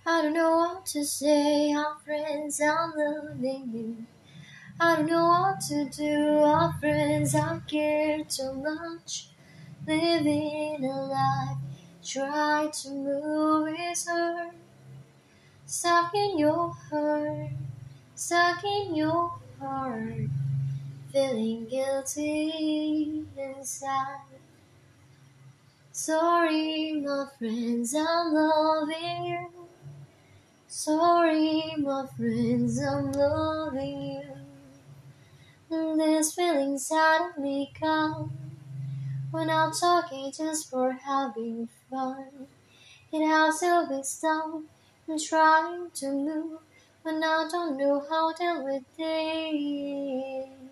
I don't know what to say, our friends, I'm loving you. I don't know what to do, our friends, I care too much. Living a life, try to move is hard. Stuck in your heart, stuck in your heart. Feeling guilty inside. Sorry, my friends, I'm loving you. Sorry, my friends, I'm loving you. This feeling suddenly comes when I'm talking just for having fun. It has to be stopped. I'm trying to move, but I don't know how to deal with it.